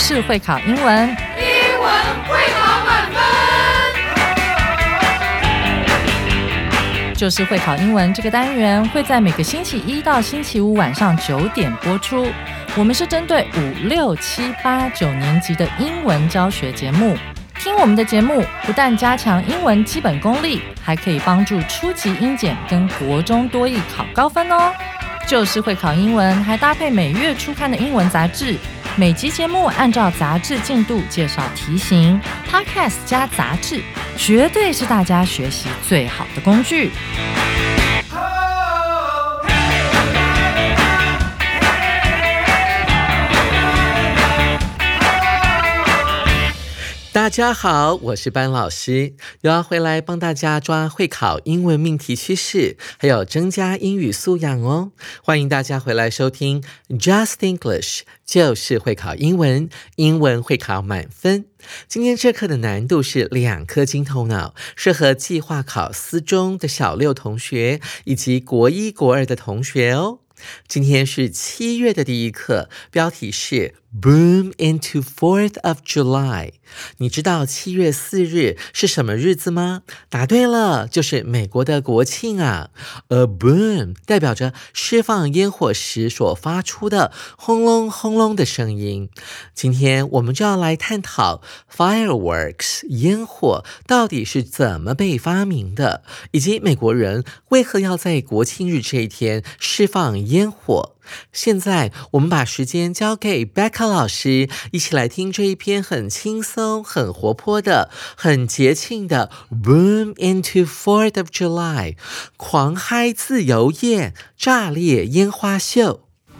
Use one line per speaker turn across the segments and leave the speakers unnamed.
就是会考英文，
英文会考满分。
就是会考英文这个单元会在每个星期一到星期五晚上9点播出。我们是针对5、6、7、8、9年级的英文教学节目。听我们的节目，不但加强英文基本功力，还可以帮助初级英检跟国中多益考高分哦。就是会考英文，还搭配每月初刊的英文杂志。每集节目按照杂志进度介绍题型 ，Podcast 加杂志，绝对是大家学习最好的工具。
大家好，我是班老师，又要回来帮大家抓会考英文命题趋势，还有增加英语素养哦。欢迎大家回来收听 Just English， 就是会考英文，英文会考满分。今天这课的难度是2颗金头脑，适合计划考私中的小6同学，以及国1、国2的同学哦。今天是7月的第一课，标题是 Boom into 4th of July。 你知道7月4日是什么日子吗？答对了，就是美国的国庆啊。A boom 代表着释放烟火时所发出的轰隆轰隆的声音。今天我们就要来探讨 fireworks 烟火到底是怎么被发明的，以及美国人为何要在国庆日这一天释放烟火。现在我们把时间交给 Becca 老师，一起来听这一篇很轻松、很活泼的、很节庆的 Boom into 4th of July， 狂嗨自由夜，炸裂烟花秀。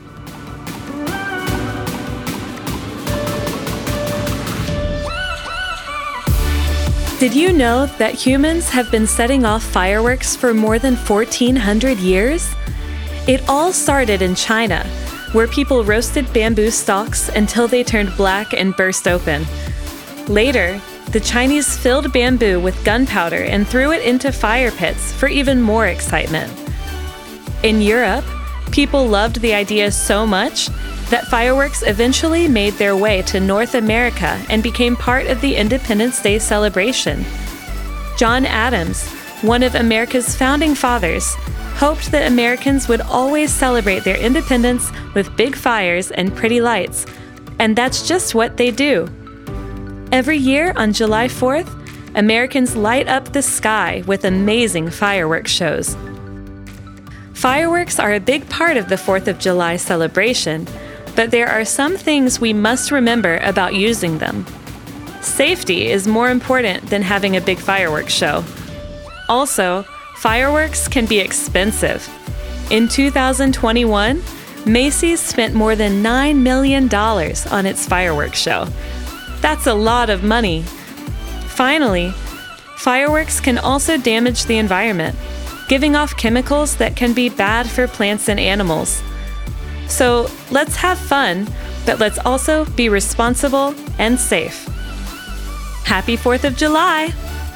Did you know that humans have been setting off fireworks for more than 1,400 years? It all started in China, where people roasted bamboo stalks until they turned black and burst open. Later, the Chinese filled bamboo with gunpowder and threw it into fire pits for even more excitement. In Europe, people loved the idea so much that fireworks eventually made their way to North America and became part of the Independence Day celebration. John Adams, one of America's founding fathers, hoped that Americans would always celebrate their independence with big fires and pretty lights, and that's just what they do. Every year on July 4th, Americans light up the sky with amazing fireworks shows. Fireworks are a big part of the 4th of July celebration, but there are some things we must remember about using them. Safety is more important than having a big fireworks show. Also, fireworks can be expensive. In 2021, Macy's spent more than $9 million on its fireworks show. That's a lot of money. Finally, fireworks can also damage the environment, giving off chemicals that can be bad for plants and animals. So let's have fun, but let's also be responsible and safe. Happy 4th of July!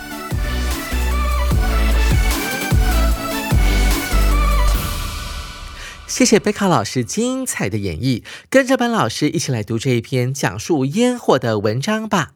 谢谢贝卡老师精彩的演绎，跟着班老师一起来读这一篇讲述烟火的文章吧。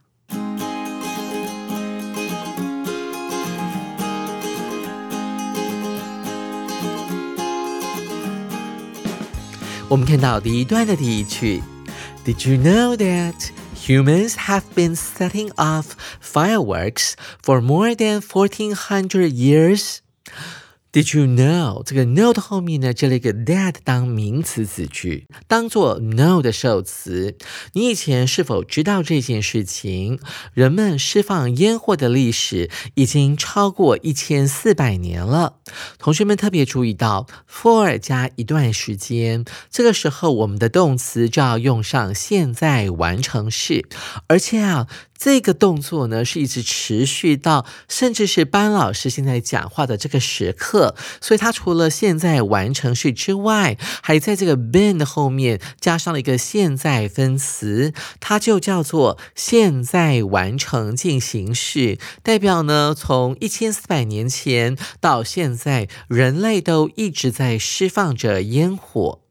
我们看到第一段的第一句 Did you know that humans have been setting off fireworks for more than 1,400 years? Did you know 这个 know 的后面呢，这里一个 that 当名词子句，当做 know 的受词。你以前是否知道这件事情？人们释放烟火的历史已经超过1400年了。同学们特别注意到 for 加一段时间，这个时候我们的动词就要用上现在完成式，而且这个动作呢是一直持续到甚至是班老师现在讲话的这个时刻，所以它除了现在完成式之外，还在这个 been 的后面加上了一个现在分词，它就叫做现在完成进行式，代表呢从1400年前到现在，人类都一直在释放着烟火。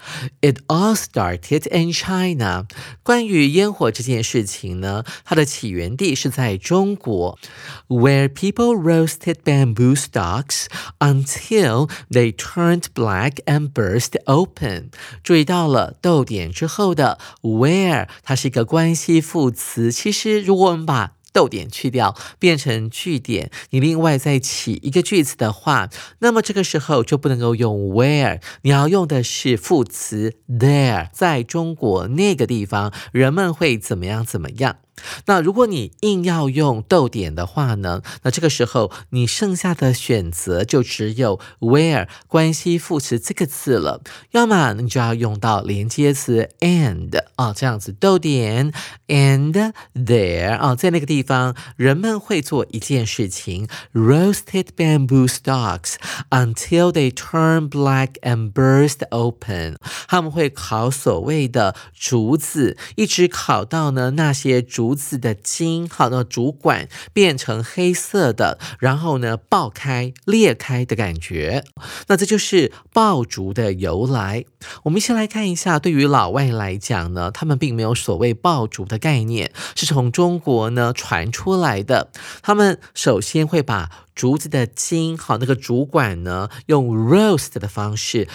It all started in China. 关于烟火这件事情呢，它的起源地是在中国 where people roasted bamboo stalks until they turned black and burst open. 注意到了逗点之后的 where 它是一个关系副词，其实如果我们把逗点去掉变成句点，你另外再起一个句子的话，那么这个时候就不能够用 where， 你要用的是副词 there， 在中国那个地方人们会怎么样怎么样。那如果你硬要用逗点的话呢，那这个时候你剩下的选择就只有 where 关系副词这个字了，要么你就要用到连接词 and 这样子逗点 and there 在那个地方人们会做一件事情 roasted bamboo stalks until they turn black and burst open， 他们会烤所谓的竹子，一直烤到呢那些竹子的茎，好的竹管变成黑色的，然后呢爆开裂开的感觉。那这就是爆竹的由来。我们先来看一下，对于老外来讲呢，他们并没有所谓爆竹的概念，是从中国呢传出来的。他们首先会把竹子的茎，好，那个竹管呢，用 roast 的方式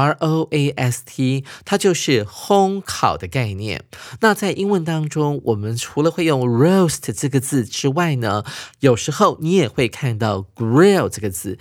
，R-O-A-S-T， 它就是烘烤的概念。那在英文当中，我们除了会用 roast 这个字之外呢，有时候你也会看到 grill 这个字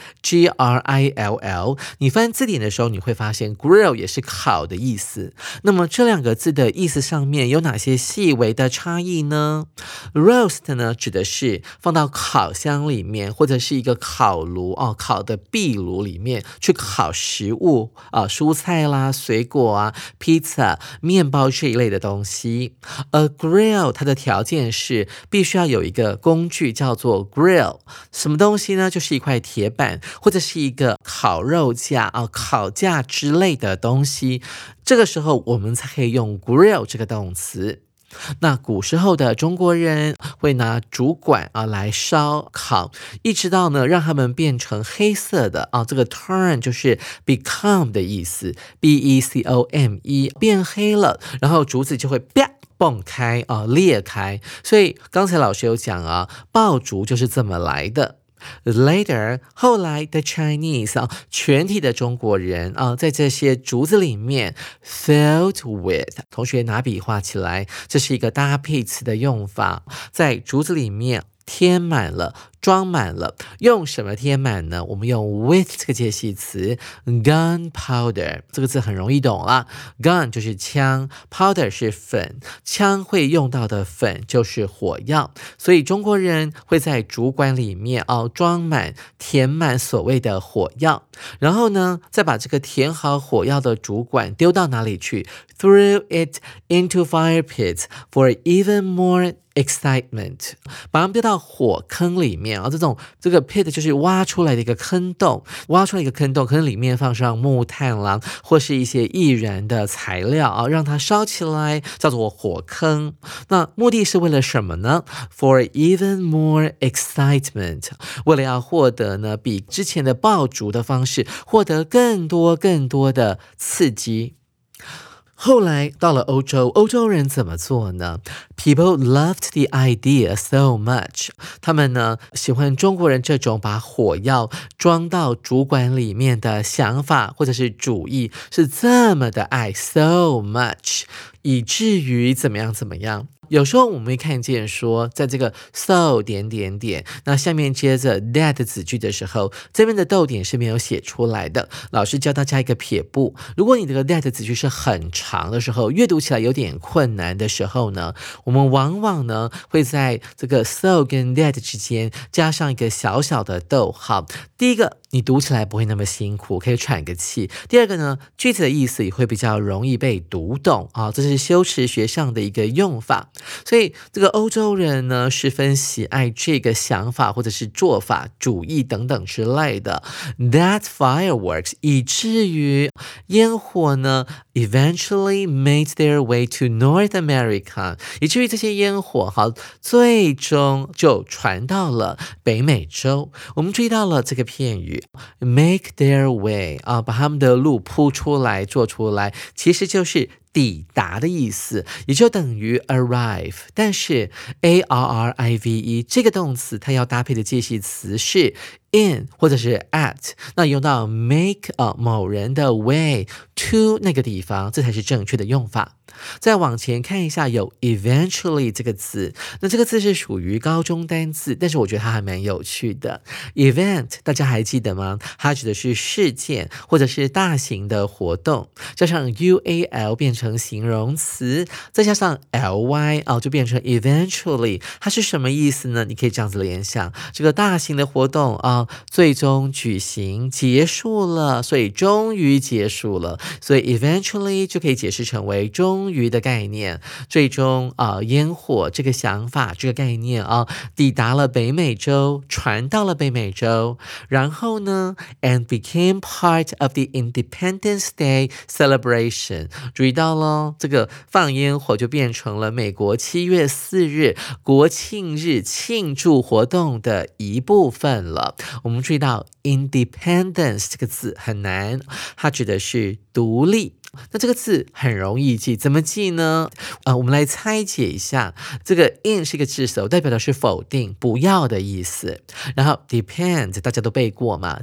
，G-R-I-L-L。你翻字典的时候，你会发现 grill 也是烤的意思。那么这两个字的意思上面有哪些细微的差异呢？ roast 呢，指的是放到烤箱里面，或者是一个烤炉烤的壁炉里面去烤食物蔬菜啦、水果啊、披萨、面包这一类的东西。而 grill 它的条件是必须要有一个工具叫做 grill， 什么东西呢？就是一块铁板或者是一个烤肉架烤架之类的东西。这个时候我们才可以用 grill 这个动词。那古时候的中国人会拿竹管来烧烤，一直到呢让它们变成黑色的这个 turn 就是 become 的意思 B-E-C-O-M-E 变黑了，然后竹子就会啪蹦开裂开。所以刚才老师有讲爆竹就是这么来的。Later， 后来的 Chinese 全体的中国人在这些竹子里面 filled with， 同学拿笔画起来，这是一个搭配词的用法，在竹子里面填满了，装满了。用什么填满呢？我们用 with 这个介系词 gunpowder， 这个字很容易懂啦。gun 就是枪， powder 是粉，枪会用到的粉就是火药，所以中国人会在竹管里面装满填满所谓的火药，然后呢再把这个填好火药的竹管丢到哪里去？ Throw it into fire pits for even more excitement， 把它们丢到火坑里面这个 pit 就是挖出来的一个坑洞，挖出来一个坑洞，可能里面放上木炭啦，或是一些易燃的材料让它烧起来，叫做火坑。那目的是为了什么呢？ For even more excitement， 为了要获得呢比之前的爆竹的方式获得更多的刺激。后来到了欧洲，欧洲人怎么做呢？ People loved the idea so much， 他们呢喜欢中国人这种把火药装到竹管里面的想法或者是主意，是这么的爱 so much， 以至于怎么样。有时候我们会看见说，在这个 so 点点点，那下面接着 that 子句的时候，这边的逗点是没有写出来的。老师教大家一个撇步，如果你这个 that 子句是很长的时候，阅读起来有点困难的时候呢，我们往往呢会在这个 so 跟 that 之间加上一个小小的逗号。第一个，你读起来不会那么辛苦，可以喘个气。第二个呢，句子的意思也会比较容易被读懂这是修辞学上的一个用法。所以这个欧洲人呢十分喜爱这个想法或者是做法、主义等等之类的。That fireworks 以至于烟火呢 eventually made their way to North America， 以至于这些烟火最终就传到了北美洲。我们注意到了这个片语 make their way 把他们的路铺出来做出来，其实就是抵达的意思，也就等于 arrive。 但是 arrive 这个动词它要搭配的介系词是 in 或者是 at， 那用到 make 某人的 way to 那个地方，这才是正确的用法。再往前看一下，有 eventually 这个字，那这个字是属于高中单字，但是我觉得它还蛮有趣的。event 大家还记得吗？它指的是事件或者是大型的活动，加上 ual 变成形容词，再加上 ly 就变成 eventually。 它是什么意思呢？你可以这样子联想，这个大型的活动最终举行结束了，所以终于结束了，所以 eventually 就可以解释成为终于的概念。最终烟火这个想法这个概念抵达了北美洲，传到了北美洲，然后呢 and became part of the Independence Day celebration。 注意到咯，这个放烟火就变成了美国7月4日国庆日庆祝活动的一部分了。我们注意到 independence 这个字很难，它指的是独立。那这个字很容易记，怎么记呢？我们来拆解一下。这个 in 是一个字首，代表的是否定、不要的意思。然后 depend 大家都背过嘛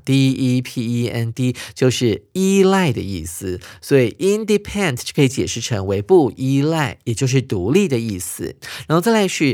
，depend 就是依赖的意思，所以 independent 就可以解释成为不依赖，也就是独立的意思。然后再来是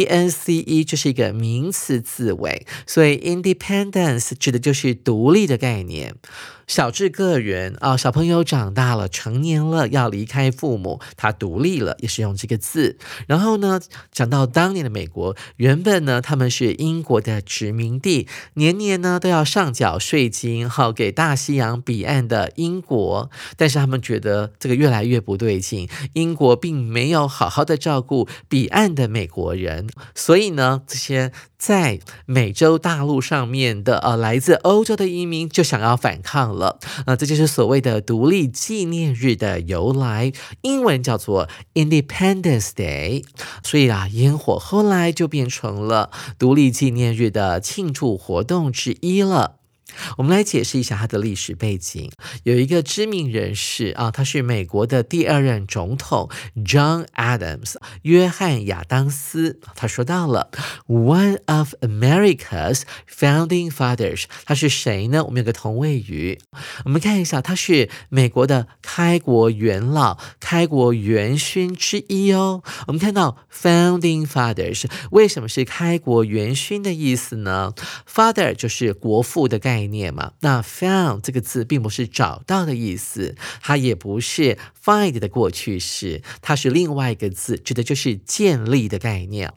ence 就是一个名词字尾，所以 independence 指的就是独立的概念。小至个人小朋友长大了成年了要离开父母，他独立了，也是用这个字。然后呢，讲到当年的美国，原本呢他们是英国的殖民地，年年呢都要上缴税金给大西洋彼岸的英国，但是他们觉得这个越来越不对劲，英国并没有好好的照顾彼岸的美国人，所以呢这些在美洲大陆上面的来自欧洲的移民就想要反抗了。这就是所谓的独立纪念日的由来，英文叫做 Independence Day。 所以烟火后来就变成了独立纪念日的庆祝活动之一了。我们来解释一下它的历史背景。有一个知名人士他是美国的第2任总统 John Adams 约翰亚当斯，他说到了 One of America's founding fathers。 他是谁呢？我们有个同位语，我们看一下，他是美国的开国元老、开国元勋之一哦。我们看到 founding fathers， 为什么是开国元勋的意思呢？ Father 就是国父的概念嘛，那 found 这个字并不是找到的意思，它也不是 find 的过去式，它是另外一个字，指的就是建立的概念，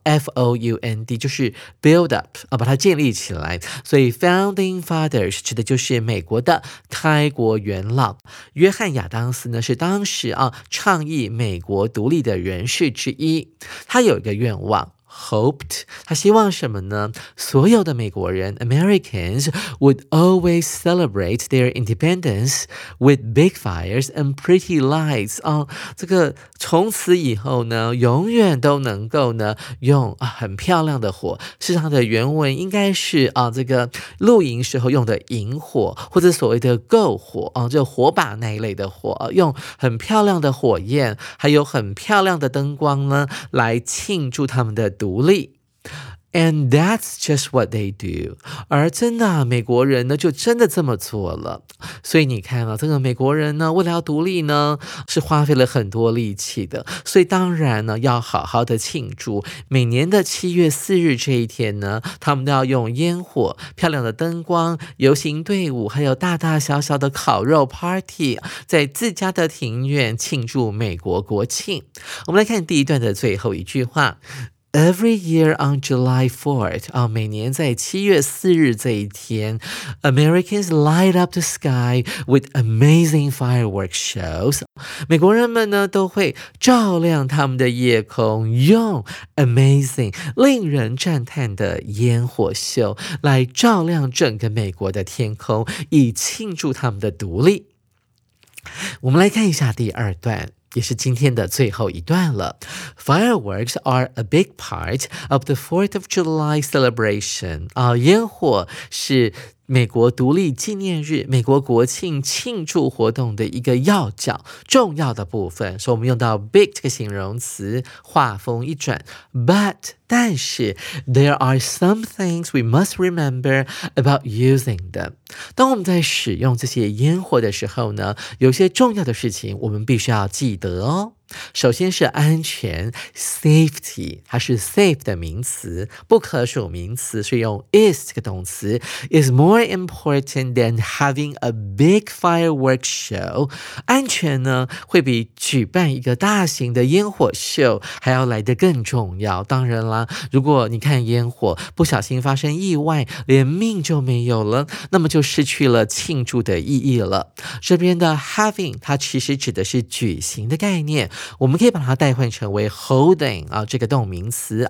found 就是 build up 把它建立起来，所以 founding fathers 指的就是美国的开国元老。约翰亚当斯呢是当时倡议美国独立的人士之一，他有一个愿望hoped， 他希望什么呢？所有的美国人 Americans would always celebrate their independence with big fires and pretty lights。 这个从此以后呢永远都能够呢用很漂亮的火，事实上的原文应该是这个露营时候用的萤火，或者所谓的篝火就火把那一类的火，用很漂亮的火焰还有很漂亮的灯光呢来庆祝他们的独立。And that's just what they do。 而真的美国人呢就真的这么做了。所以你看这个美国人呢为了要独立呢是花费了很多力气的，所以当然呢要好好的庆祝。每年的7月4日这一天呢，他们都要用烟火、漂亮的灯光、游行队伍，还有大大小小的烤肉 party， 在自家的庭院庆祝美国国庆。我们来看第一段的最后一句话。Every year on July 4th， 每年在7月4日这一天 ，Americans light up the sky with amazing fireworks shows。美国人们呢都会照亮他们的夜空，用 amazing 令人赞叹的烟火秀来照亮整个美国的天空，以庆祝他们的独立。我们来看一下第2段。 也是今天的最后一段了。Fireworks are a big part of the 4th of July celebration. 烟火是美国独立纪念日、美国国庆庆祝活动的一个要角、重要的部分，所以我们用到 big 这个形容词，话锋一转。但是 there are some things we must remember about using them. 当我们在使用这些烟火的时候呢，有些重要的事情我们必须要记得哦。首先是安全 safety， 它是 safe 的名词，不可数名词，所以用 is 这个动词 is more important than having a big fireworks show. 安全呢会比举办一个大型的烟火秀还要来得更重要。当然啦，如果你看烟火不小心发生意外，连命就没有了，那么就失去了庆祝的意义了。这边的 having 它其实指的是举行的概念，我们可以把它代换成为 holding 这个动名词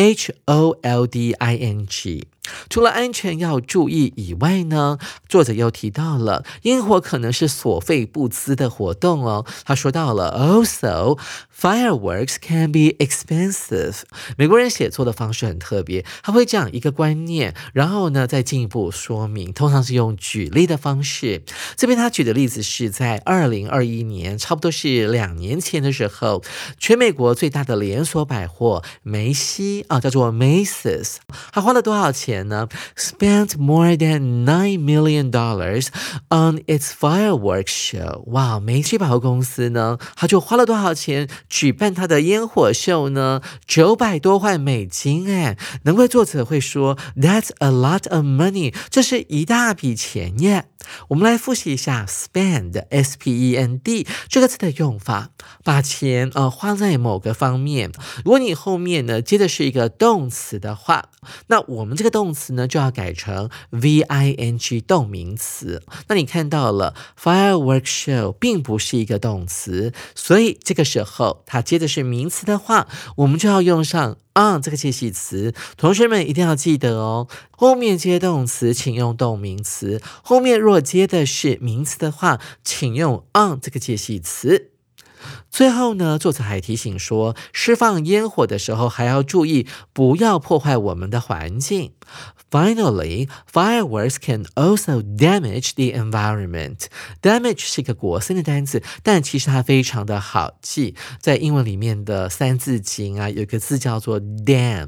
holding。除了安全要注意以外呢，作者又提到了烟火可能是所费不赀的活动哦。他说到了 Also, fireworks can be expensive. 美国人写作的方式很特别，他会讲一个观念，然后呢再进一步说明，通常是用举例的方式。这边他举的例子是在2021年，差不多是2年前的时候，全美国最大的连锁百货梅西叫做 Macy's， 他花了多少钱呢？ Spent more than $9 million on its fireworks show. 哇，梅西百货公司呢，他就花了多少钱举办他的烟火秀呢？900多万美金哎，难怪作者会说 That's a lot of money， 这是一大笔钱耶。我们来复习一下 spend S-P-E-N-D 这个词的用法，把钱花在某个方面。如果你后面呢接的是一个动词的话，那我们这个动词呢就要改成 V-I-N-G 动名词。那你看到了 fireworks show 并不是一个动词，所以这个时候它接的是名词的话，我们就要用上on 这个介系词。同学们一定要记得哦，后面接动词请用动名词，后面若接的是名词的话，请用 on 这个介系词。最后呢，作者还提醒说，释放烟火的时候还要注意不要破坏我们的环境。Finally, fireworks can also damage the environment. Damage 是一个国声的单词，但其实它非常的好记。在英文里面的三字经有一个字叫做 dam,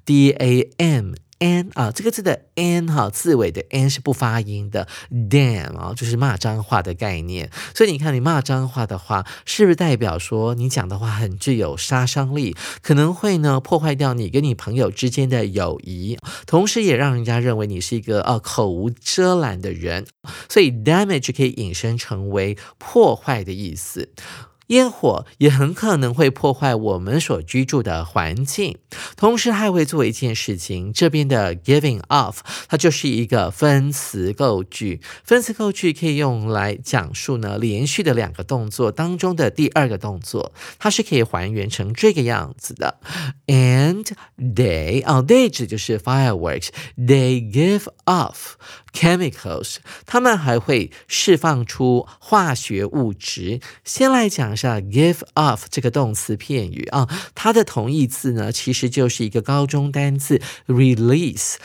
D-A-M。N 这个字的 N 字尾的 N 是不发音的 damn 就是骂脏话的概念。所以你看，你骂脏话的话，是不是代表说你讲的话很具有杀伤力，可能会呢破坏掉你跟你朋友之间的友谊，同时也让人家认为你是一个口无遮拦的人。所以 damage 可以引申成为破坏的意思。烟火也很可能会破坏我们所居住的环境，同时还会做一件事情，这边的 giving off 它就是一个分词构句。分词构句可以用来讲述呢连续的2个动作当中的第2个动作，它是可以还原成这个样子的。And they 指就是 fireworks, they give off chemicals， 他们还会释放出化学物质。先来讲一下 give off 这个动词片语它的同义字呢其实就是一个高中单字 release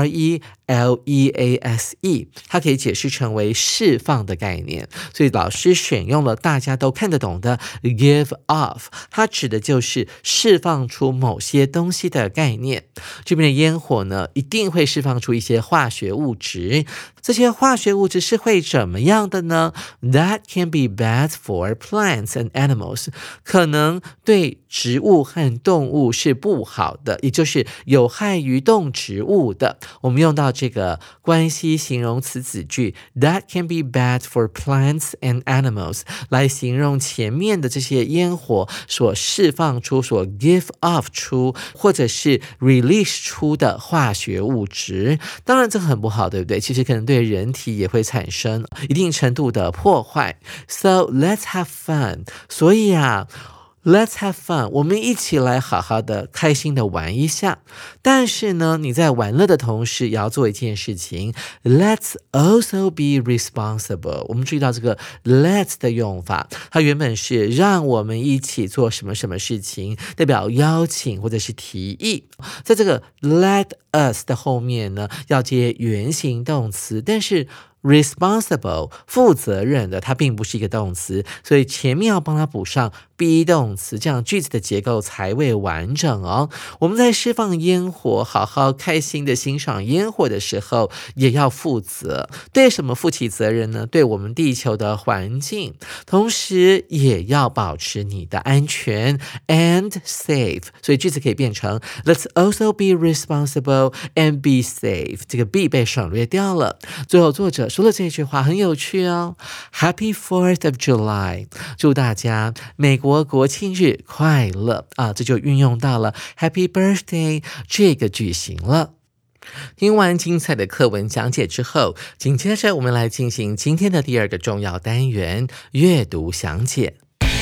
R-E-L-E-A-S-E， 它可以解释成为释放的概念，所以老师选用了大家都看得懂的 give off， 它指的就是释放出某些东西的概念。这边的烟火呢一定会释放出一些化学物质，这些化学物质是会怎么样的呢？ That can be bad for plants and animals， 可能对植物和动物是不好的，也就是有害于动植物的。我们用到这个关系形容词子句 That can be bad for plants and animals 来形容前面的这些烟火所释放出、所 give off 出或者是 release 出的化学物质。当然这很不好，对不对？其实可能对人体也会产生一定程度的破坏。So let's have fun。 所以 Let's have fun， 我们一起来好好的开心的玩一下。但是呢，你在玩乐的同时也要做一件事情， Let's also be responsible。 我们注意到这个 let's 的用法，它原本是让我们一起做什么什么事情，代表邀请或者是提议。在这个 let us 的后面呢，要接原形动词，但是responsible 负责任的，它并不是一个动词，所以前面要帮它补上 be 动词，这样句子的结构才会完整哦。我们在释放烟火，好好开心的欣赏烟火的时候，也要负责。对什么负起责任呢？对我们地球的环境，同时也要保持你的安全 and safe。所以句子可以变成 Let's also be responsible and be safe。这个 be 被省略掉了。最后作者说了这句话很有趣哦 ，Happy 4th of July， 祝大家美国国庆日快乐啊！这就运用到了 Happy Birthday 这个句型了。听完精彩的课文讲解之后，紧接着我们来进行今天的第二个重要单元——阅读详解。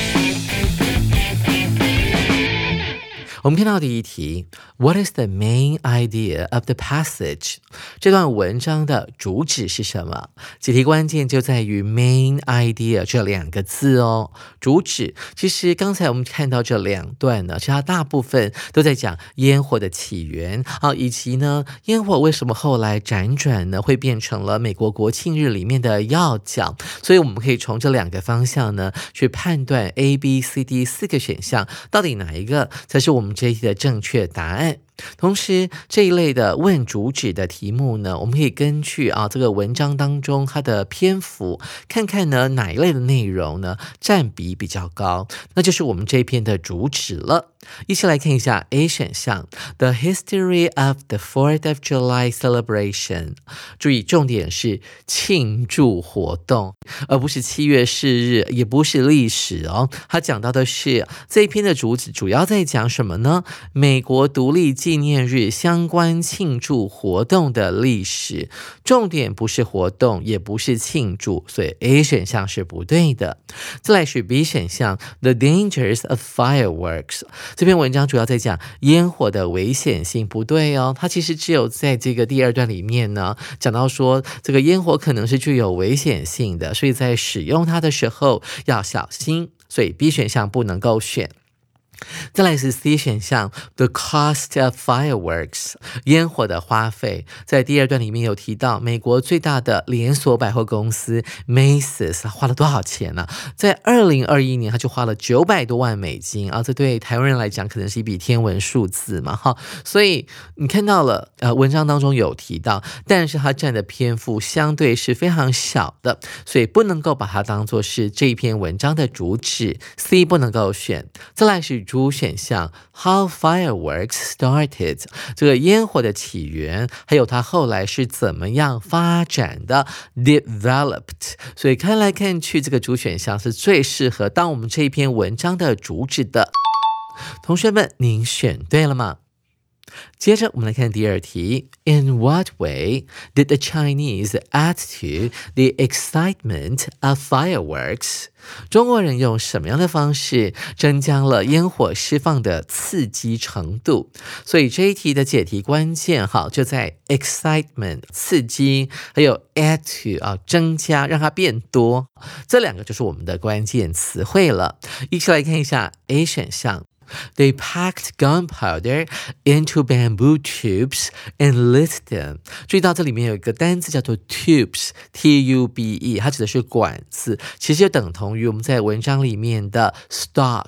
我们看到第一题 What is the main idea of the passage？ 这段文章的主旨是什么？解题关键就在于 main idea 这两个字哦。主旨其实刚才我们看到这两段呢，其实它大部分都在讲烟火的起源以及呢烟火为什么后来辗转呢会变成了美国国庆日里面的要角。所以我们可以从这两个方向呢去判断 A、B、C、D 四个选项到底哪一个才是我们这一题的正确答案。同时这一类的问主旨的题目呢，我们可以根据这个文章当中它的篇幅，看看呢哪一类的内容呢占比比较高，那就是我们这一篇的主旨了。一起来看一下 A 选项 The history of the 4th of July celebration。 注意重点是庆祝活动，而不是7月4日，也不是历史哦。它讲到的是这一篇的主旨主要在讲什么呢？美国独立纪念日相关庆祝活动的历史，重点不是活动，也不是庆祝，所以 A 选项是不对的。再来是 B 选项 The dangers of fireworks。 这篇文章主要在讲烟火的危险性，不对哦。它其实只有在这个第二段里面呢，讲到说这个烟火可能是具有危险性的，所以在使用它的时候要小心，所以 B 选项不能够选。再来是 C 选项 The cost of fireworks， 烟火的花费。在第二段里面有提到美国最大的连锁百货公司 Macy's 花了多少钱呢？在2021年他就花了900多万美金这对台湾人来讲可能是一笔天文数字嘛所以你看到了文章当中有提到，但是它占的篇幅相对是非常小的，所以不能够把它当作是这一篇文章的主旨， C 不能够选。再来是主选项 How fireworks started， 这个烟火的起源，还有它后来是怎么样发展的 developed。 所以看来看去这个主选项是最适合当我们这一篇文章的主旨的。同学们，您选对了吗？接着我们来看第二题 In what way did the Chinese add to the excitement of fireworks？ 中国人用什么样的方式增加了烟火释放的刺激程度？所以这一题的解题关键就在 excitement 刺激，还有 add to 增加，让它变多，这两个就是我们的关键词汇了。一起来看一下 A 选项They packed gunpowder into bamboo tubes and lit them。 注意到这里面有一个单字叫做 tubes， T-U-B-E， 它指的是管子，其实就等同于我们在文章里面的 stalk，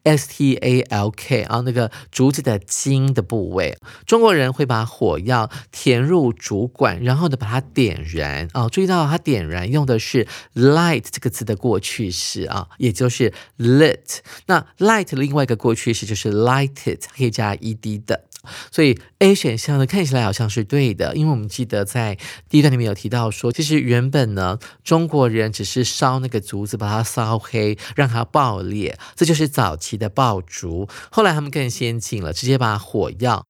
S-T-A-L-K 那个竹子的茎的部位。中国人会把火药填入竹管，然后呢把它点燃注意到它点燃用的是 light 这个字的过去式也就是 lit。 那 light 的另外一个过去式就是 lighted， 可以加 ed 的。所以 A 选项呢看起来好像是对的，因为我们记得在第一段里面有提到说，其实原本呢中国人只是烧那个竹子，把它烧黑，让它爆裂，这就是早期的爆竹。后来他们更先进了，直接把火药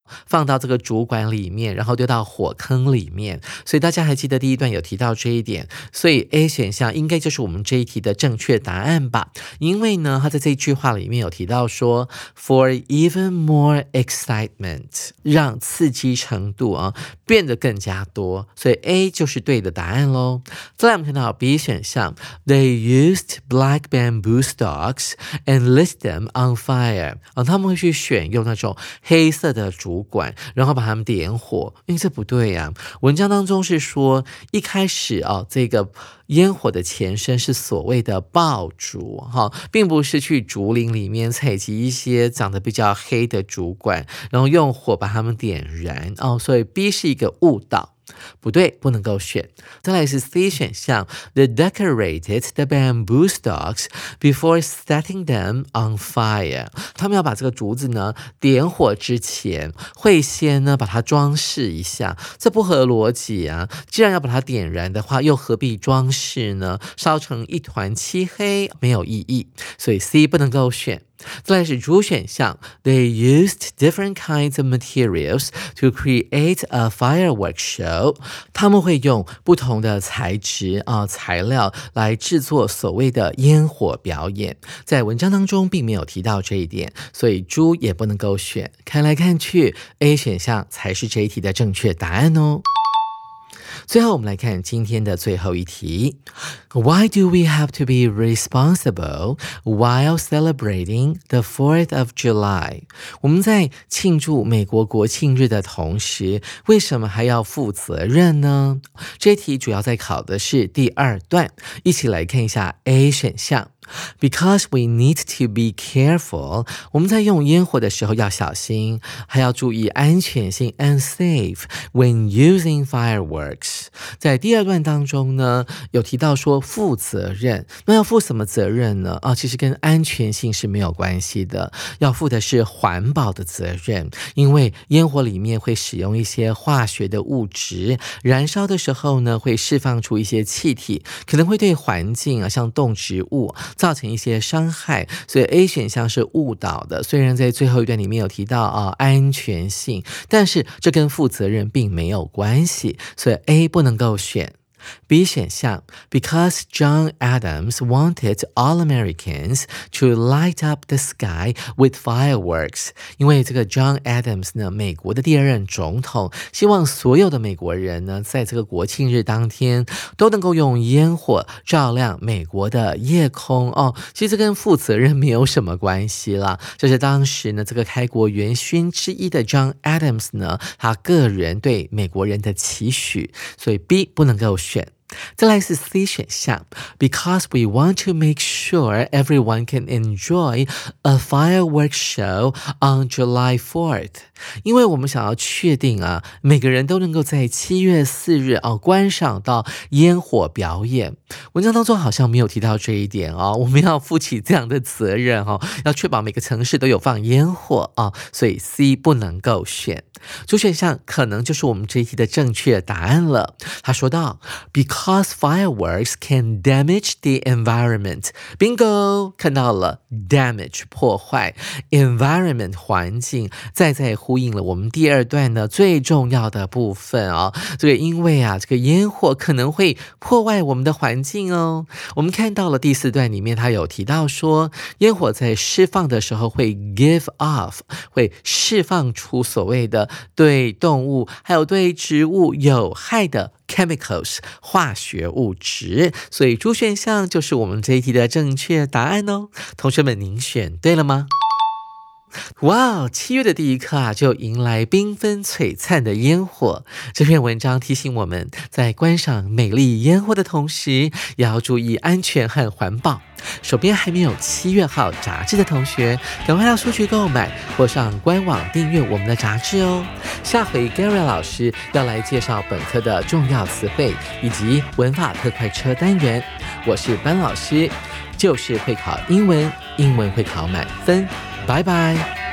放到这个主管里面，然后丢到火坑里面。所以大家还记得第一段有提到这一点，所以 A 选项应该就是我们这一题的正确答案吧。因为呢，他在这一句话里面有提到说 for even more excitement， 让刺激程度变得更加多，所以 A 就是对的答案咯。再来我们看到 B 选项 They used black bamboo stalks and lit them on fire， 他们会去选用那种黑色的竹管，然后把它们点火。因为这不对啊，文章当中是说一开始这个烟火的前身是所谓的爆竹，并不是去竹林里面采集一些长得比较黑的竹管，然后用火把它们点燃。所以 B 是一个误导，不对，不能够选。再来是 C 选项 They decorated the bamboo stalks before setting them on fire， 他们要把这个竹子呢点火之前会先呢把它装饰一下，这不合逻辑啊，既然要把它点燃的话，又何必装饰呢？烧成一团漆黑没有意义，所以 C 不能够选。再来是主选项 They used different kinds of materials to create a fireworks show， 他们会用不同的材质材料来制作所谓的烟火表演。在文章当中并没有提到这一点，所以猪也不能够选。看来看去 A 选项才是这一题的正确答案哦。最后我们来看今天的最后一题 Why do we have to be responsible while celebrating the 4th of July？ 我们在庆祝美国国庆日的同时，为什么还要负责任呢？这一题主要在考的是第二段，一起来看一下 A 选项Because we need to be careful， 我们在用烟火的时候要小心，还要注意安全性 and safe when using fireworks。 在第二段当中呢，有提到说负责任，那要负什么责任呢？其实跟安全性是没有关系的，要负的是环保的责任，因为烟火里面会使用一些化学的物质，燃烧的时候呢，会释放出一些气体，可能会对环境像动植物造成一些伤害，所以 A 选项是误导的。虽然在最后一段里面有提到安全性，但是这跟负责任并没有关系，所以 A 不能够选。B 选项 Because John Adams wanted all Americans to light up the sky with fireworks， 因为这个 John Adams 呢，美国的第二任总统，希望所有的美国人呢，在这个国庆日当天都能够用烟火照亮美国的夜空其实这跟负责任没有什么关系啦，这是当时呢这个开国元勋之一的 John Adams 呢，他个人对美国人的期许，所以 B 不能够选。再来是 C 选项 Because we want to make sure everyone can enjoy a fireworks show on July 4th， 因为我们想要确定每个人都能够在7月4日观赏到烟火表演。文章当中好像没有提到这一点我们要负起这样的责任要确保每个城市都有放烟火所以 C 不能够选。主选项可能就是我们这一题的正确答案了。他说到 Because fireworks can damage the environment， Bingo， 看到了 damage 破坏 environment 环境，再呼应了我们第二段呢最重要的部分这个因为这个烟火可能会破坏我们的环境我们看到了第4段里面他有提到说烟火在释放的时候会 give off， 会释放出所谓的对动物还有对植物有害的chemicals 化学物质，所以主选项就是我们这一题的正确答案同学们您选对了吗？哇，7月的第一刻就迎来缤纷璀璨的烟火。这篇文章提醒我们在观赏美丽烟火的同时，也要注意安全和环保。手边还没有7月号杂志的同学，赶快到书局购买或上官网订阅我们的杂志下回 Gary 老师要来介绍本课的重要词汇以及文法特快车单元。我是班老师，就是会考英文，英文会考满分。拜拜。